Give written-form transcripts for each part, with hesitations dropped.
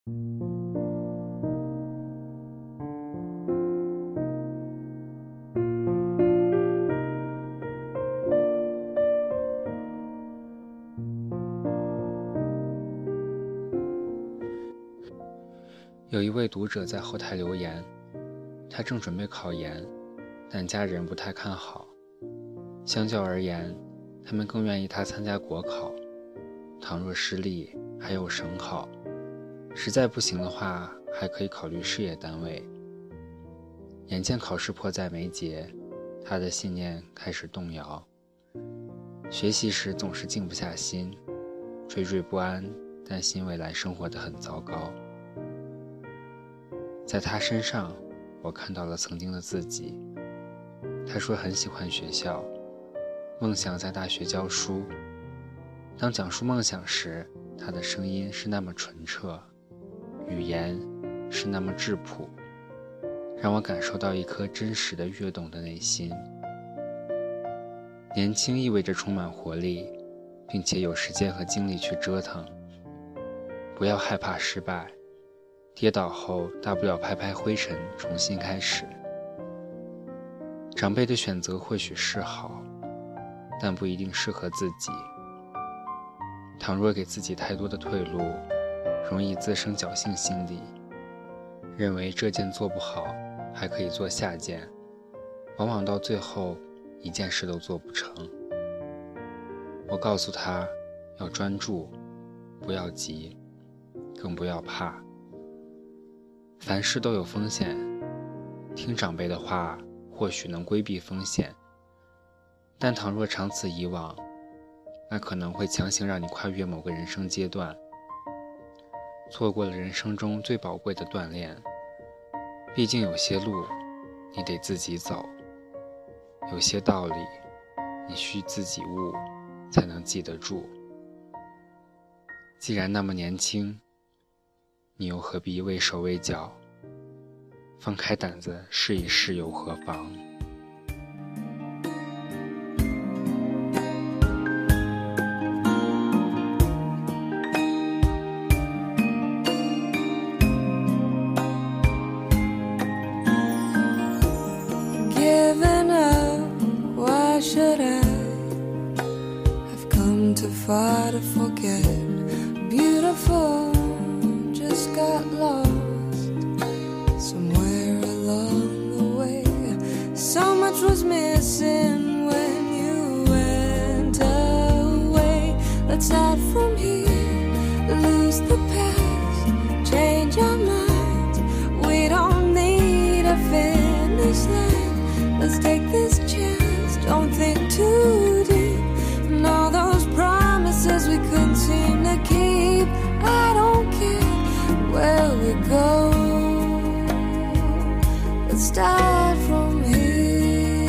有一位读者在后台留言，他正准备考研，但家人不太看好。相较而言，他们更愿意他参加国考，倘若失利，还有省考，实在不行的话，还可以考虑事业单位。眼见考试迫在眉睫，他的信念开始动摇。学习时总是静不下心，惴惴不安，担心未来生活得很糟糕。在他身上，我看到了曾经的自己。他说很喜欢学校，梦想在大学教书。当讲述梦想时，他的声音是那么纯澈，语言是那么质朴，让我感受到一颗真实的跃动的内心。年轻意味着充满活力，并且有时间和精力去折腾。不要害怕失败，跌倒后大不了拍拍灰尘，重新开始。长辈的选择或许是好，但不一定适合自己。倘若给自己太多的退路，容易滋生侥幸心理，认为这件做不好还可以做下件，往往到最后一件事都做不成。我告诉他要专注，不要急，更不要怕。凡事都有风险，听长辈的话或许能规避风险，但倘若长此以往，那可能会强行让你跨越某个人生阶段，错过了人生中最宝贵的锻炼。毕竟有些路你得自己走，有些道理你需自己悟才能记得住。既然那么年轻，你又何必畏手畏脚？放开胆子试一试又何妨 ？Given up, why should I have come too far to forget? Beautiful, just got lost somewhere along the way. So much was missing when you went away. Let's start from here, lose the past, change our minds. We don't need a finish line. Let's take this chance, don't think too deep. And all those promises we couldn't seem to keep. I don't care where we go. Let's start from here.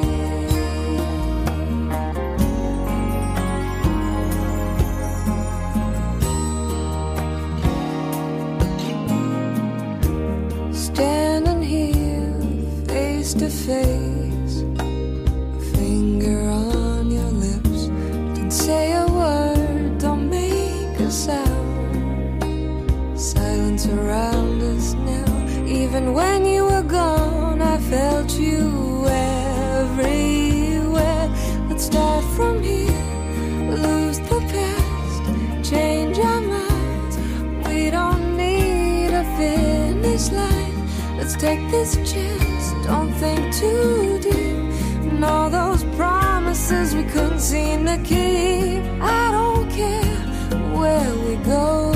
Standing here face to face, a finger on your lips. Don't say a word, don't make a sound. Silence around us now. Even when you were gone, I felt you everywhere. Let's start from here, lose the past, change our minds. We don't need a finish line. Let's take this chance, don't think too deep. And all those promises we couldn't seem to keep. I don't care where we go.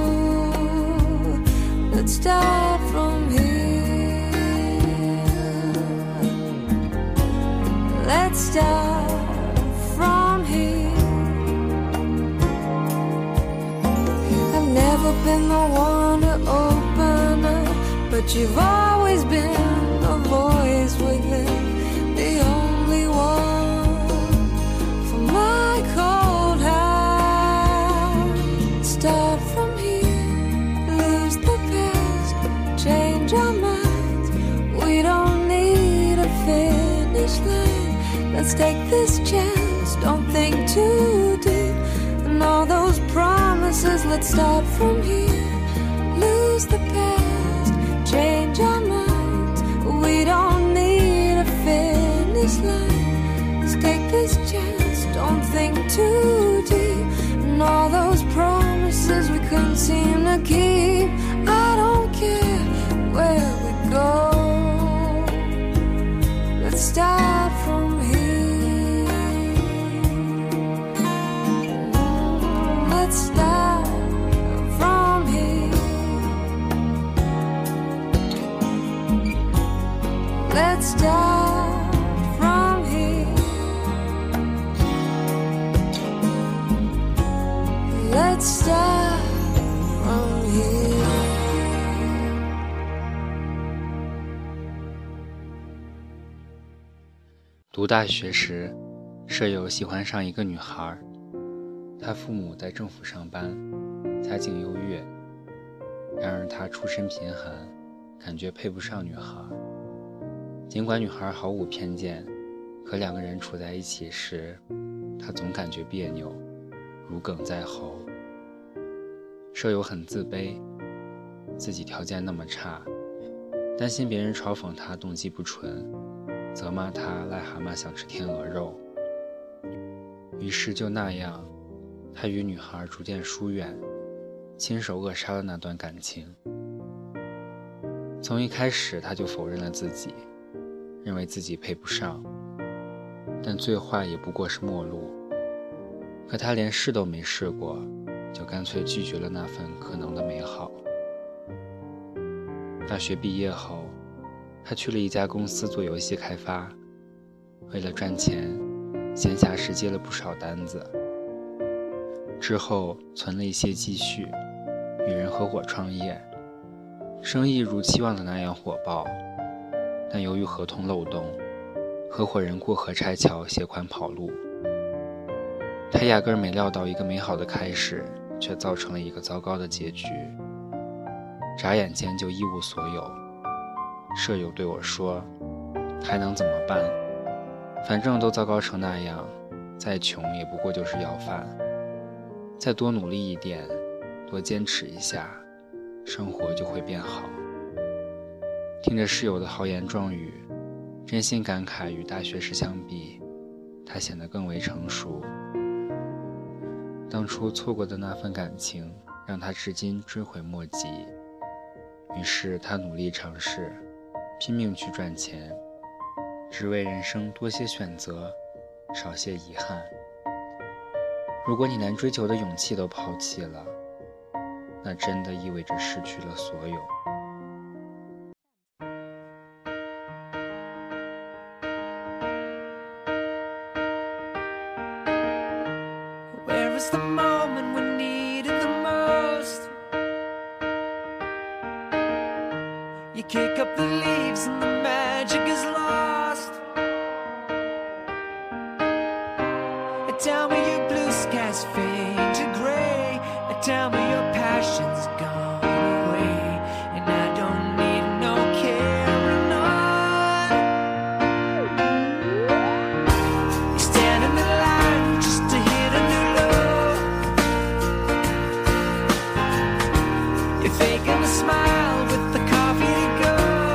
Let's start from here. Let's start from here. I've never been the one to open up, but you've always been the voice within, the only one for my cold heart. Start from here, lose the past, change our minds. We don't need a finish line. Let's take this chance, don't think too deep. And all those promises, let's start from here. lose the past, change our minds. We don't need a finish line. Let's take this chance, don't think too deep. And all those promises we couldn't seem to keep. I don't care where we go. Let's start from here. Let's start from here. Let's start from here. Let's start from here. 读大学时，舍友喜欢上一个女孩，她父母在政府上班，家境优越，然而她出身贫寒，感觉配不上女孩。尽管女孩毫无偏见，可两个人处在一起时，她总感觉别扭，如鲠在喉。舍友很自卑，自己条件那么差，担心别人嘲讽她动机不纯，责骂她癞蛤蟆想吃天鹅肉。于是就那样，他与女孩逐渐疏远，亲手扼杀了那段感情。从一开始他就否认了自己，认为自己配不上，但最坏也不过是陌路。可他连试都没试过，就干脆拒绝了那份可能的美好。大学毕业后，他去了一家公司做游戏开发，为了赚钱，闲暇时接了不少单子。之后存了一些积蓄，与人合伙创业，生意如期望的那样火爆，但由于合同漏洞，合伙人过河拆桥携款跑路。他压根没料到一个美好的开始，却造成了一个糟糕的结局，眨眼间就一无所有。舍友对我说，还能怎么办？反正都糟糕成那样，再穷也不过就是要饭。再多努力一点，多坚持一下，生活就会变好。听着室友的豪言壮语，真心感慨与大学时相比，他显得更为成熟。当初错过的那份感情，让他至今追悔莫及。于是他努力尝试，拼命去赚钱，只为人生多些选择，少些遗憾。如果你连追求的勇气都抛弃了，那真的意味着失去了所有。 Where is the moment we needed the most? You kick up the leaves and the magic is lost. Tell me your blue skies fade to gray. Tell me your passion's gone away, and I don't need no carrying on. You stand in the line just to hit a new low. You're faking a smile with the coffee to go.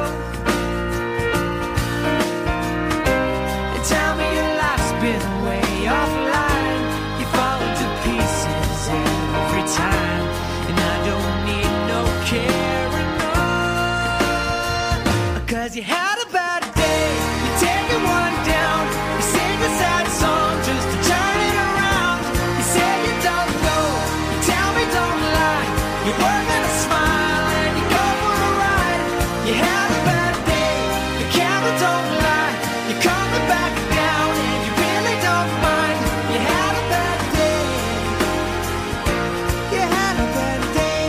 And tell me your life's been way offline. You fall to pieces every time, and I don't need no carrying on. 'Cause you had a bad day, you take it one down. You sing a sad song just to turn it around. You say you don't know, you tell me don't lie. You're working a smile and you go for a ride. You had a bad day, the camera don't lie. You're coming back down and you really don't mind. You had a bad day. You had a bad day.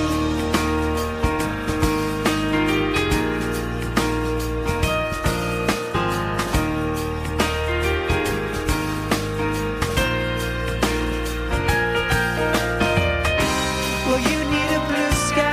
Well, you need a blue sky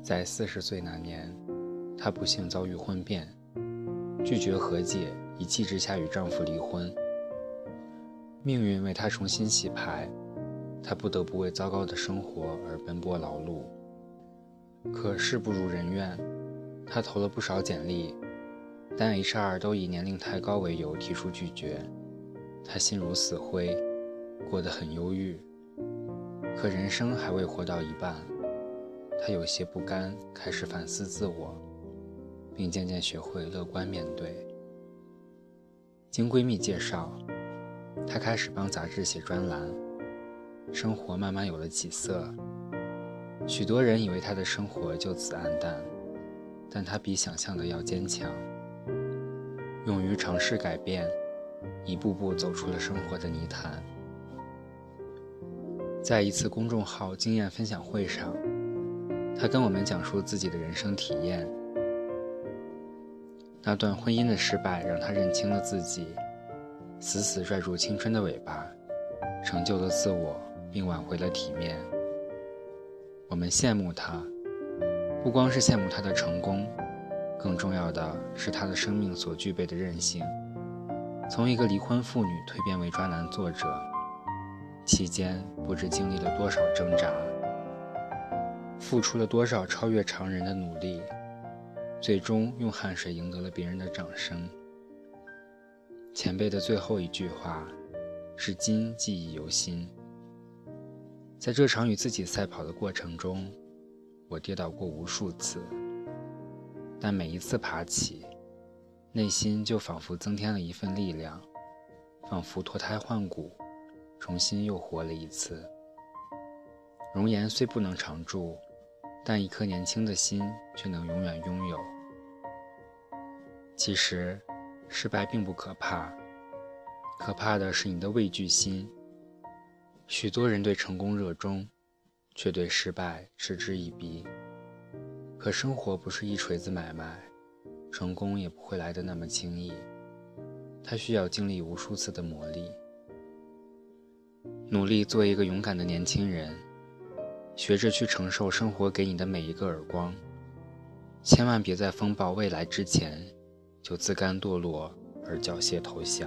在40岁那年，她不幸遭遇婚变，拒绝和解，一气之下与丈夫离婚。命运为她重新洗牌，她不得不为糟糕的生活而奔波劳碌。可事不如人愿，她投了不少简历，但 HR 都以年龄太高为由提出拒绝。她心如死灰，过得很忧郁。可人生还未活到一半，她有些不甘，开始反思自我，并渐渐学会乐观面对。经闺蜜介绍，她开始帮杂志写专栏，生活慢慢有了起色。许多人以为她的生活就此黯淡，但她比想象的要坚强，勇于尝试改变，一步步走出了生活的泥潭。在一次公众号经验分享会上，她跟我们讲述自己的人生体验。那段婚姻的失败让她认清了自己，死死拽住青春的尾巴，成就了自我，并挽回了体面。我们羡慕她，不光是羡慕她的成功，更重要的是她的生命所具备的韧性。从一个离婚妇女蜕变为专栏作者，期间不知经历了多少挣扎，付出了多少超越常人的努力，最终用汗水赢得了别人的掌声。前辈的最后一句话，至今记忆犹新。在这场与自己赛跑的过程中，我跌倒过无数次，但每一次爬起，内心就仿佛增添了一份力量，仿佛脱胎换骨，重新又活了一次。容颜虽不能常驻，但一颗年轻的心却能永远拥有。其实失败并不可怕，可怕的是你的畏惧心。许多人对成功热衷，却对失败嗤之以鼻。可生活不是一锤子买卖，成功也不会来得那么轻易，它需要经历无数次的磨砺。努力做一个勇敢的年轻人，学着去承受生活给你的每一个耳光，千万别在风暴未来之前就自甘堕落而缴械投降。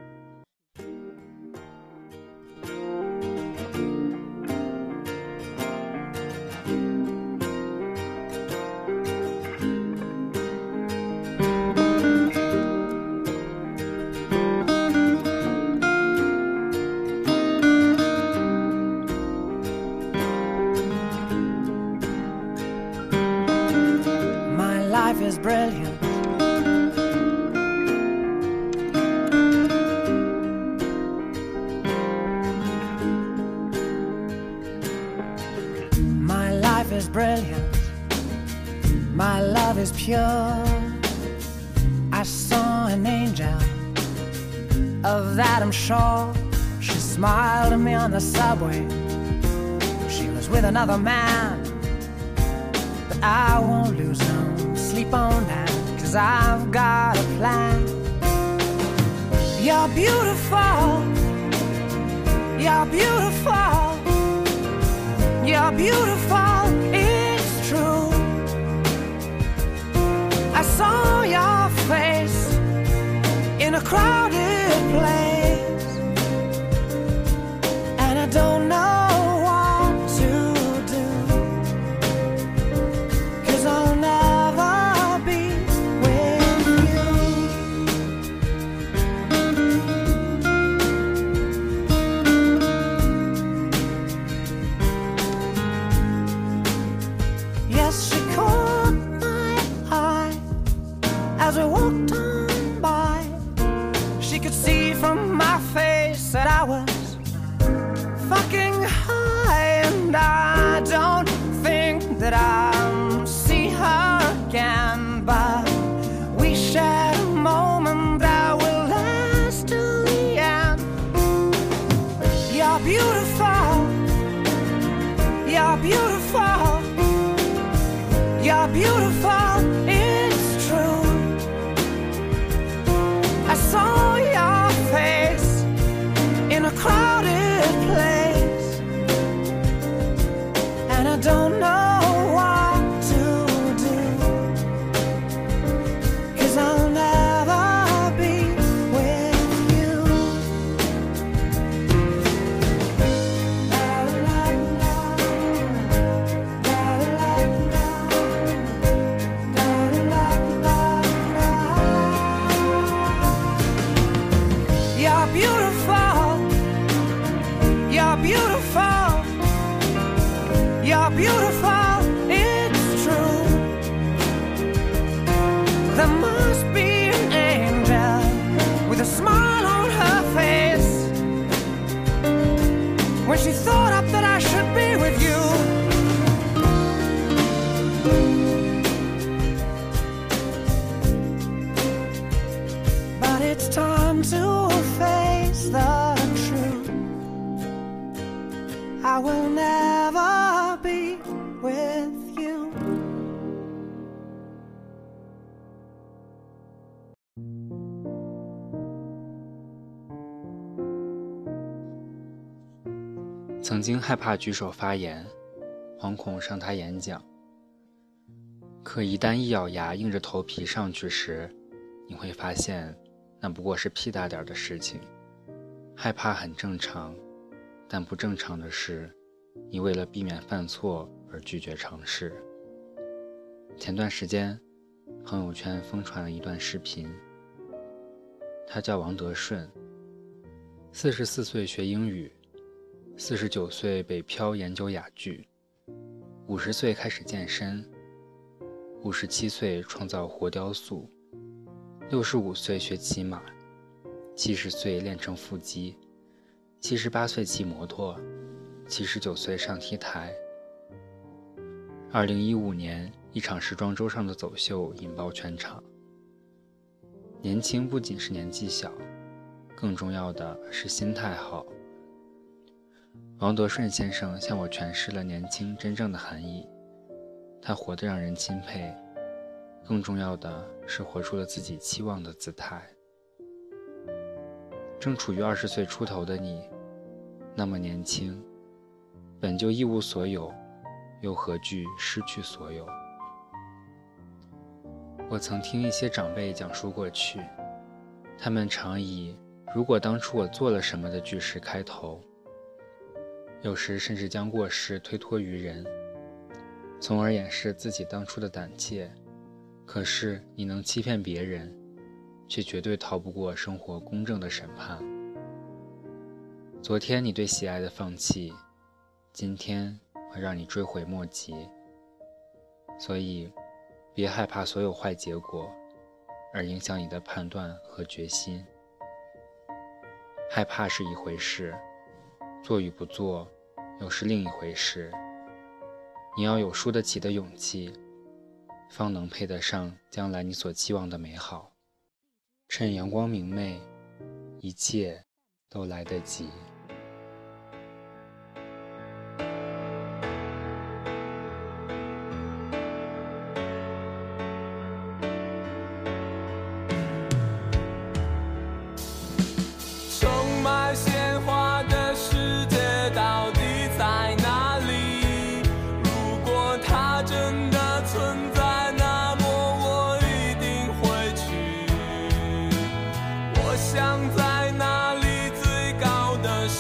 Life is brilliant. My life is brilliant. My love is pure. I saw an angel, of that I'm sure. She smiled at me on the subway. She was with another man, but I won't lose no sleep on that, 'cause I've got a plan. You're beautiful. You're beautiful. You're beautiful. It's true. I saw your face in a crowded place, and I don't know what to do, 'cause I'll never be with you. Yes, she caught my eye as we walked on by. She could see from my face that I was fucking high, and I don't think that I'll see her again, but we shared a moment that will last till the end. You're beautiful. You're beautiful. You're beautiful. It's true. I saw your face in a crowded place, You're beautiful. You're beautiful. You're beautiful. It's true. There must be an angel with a smile on her face when she thought up that I should be with you. But it's time to face the truth. I will never be with you. 曾经害怕举手发言，惶恐上台演讲，可一旦一咬牙硬着头皮上去时，你会发现那不过是屁大点的事情。害怕很正常，但不正常的是你为了避免犯错而拒绝尝试。前段时间朋友圈疯传了一段视频，他叫王德顺，44岁学英语，49岁北漂研究哑剧，50岁开始健身，57岁创造活雕塑，65岁学骑马，70岁练成腹肌，78岁骑摩托，79岁上 T 台。2015年一场时装周上的走秀引爆全场。年轻不仅是年纪小，更重要的是心态好。王德顺先生向我诠释了年轻真正的含义，他活得让人钦佩，更重要的是活出了自己期望的姿态。正处于20岁出头的你，那么年轻，本就一无所有，又何惧失去所有？我曾听一些长辈讲述过去，他们常以如果当初我做了什么的句式开头，有时甚至将过失推脱于人，从而掩饰自己当初的胆怯。可是你能欺骗别人，却绝对逃不过生活公正的审判。昨天你对喜爱的放弃，今天会让你追悔莫及。所以别害怕所有坏结果而影响你的判断和决心。害怕是一回事，做与不做又是另一回事。你要有输得起的勇气，方能配得上将来你所期望的美好。趁阳光明媚，一切都来得及。 充满鲜花的世界到底在哪里？如果它真的存在，那么我一定会去。我想在那里最高的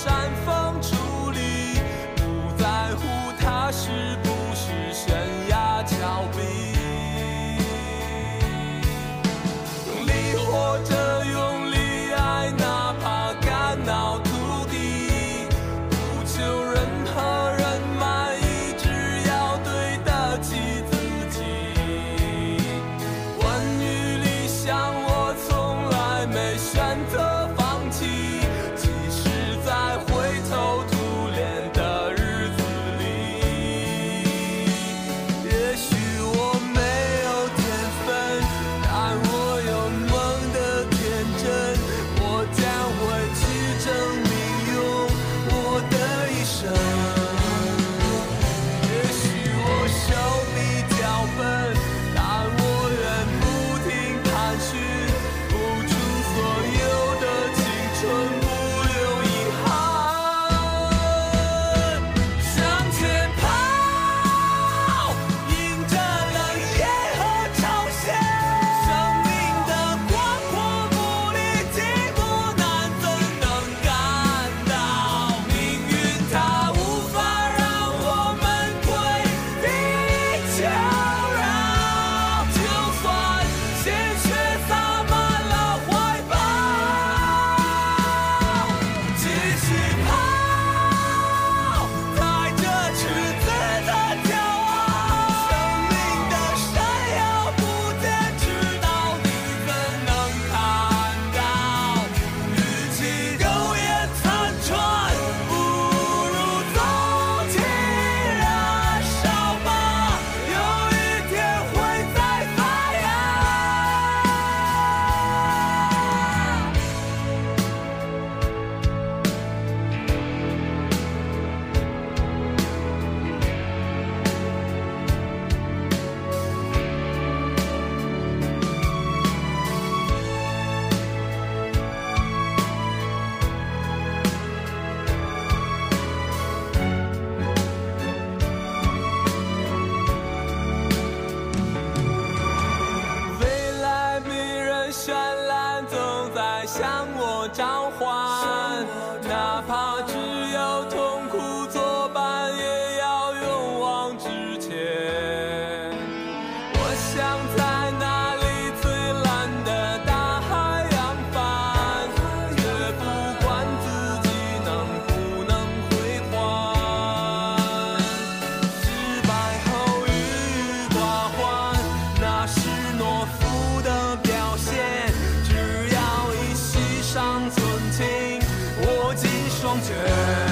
么召唤，哪怕只有痛苦作伴，也要勇往直前。我想在那里最蓝的大海扬帆，却不管自己能不能归还。失败后郁郁寡欢，那是懦夫的表现。只要一息尚存，请握紧双拳。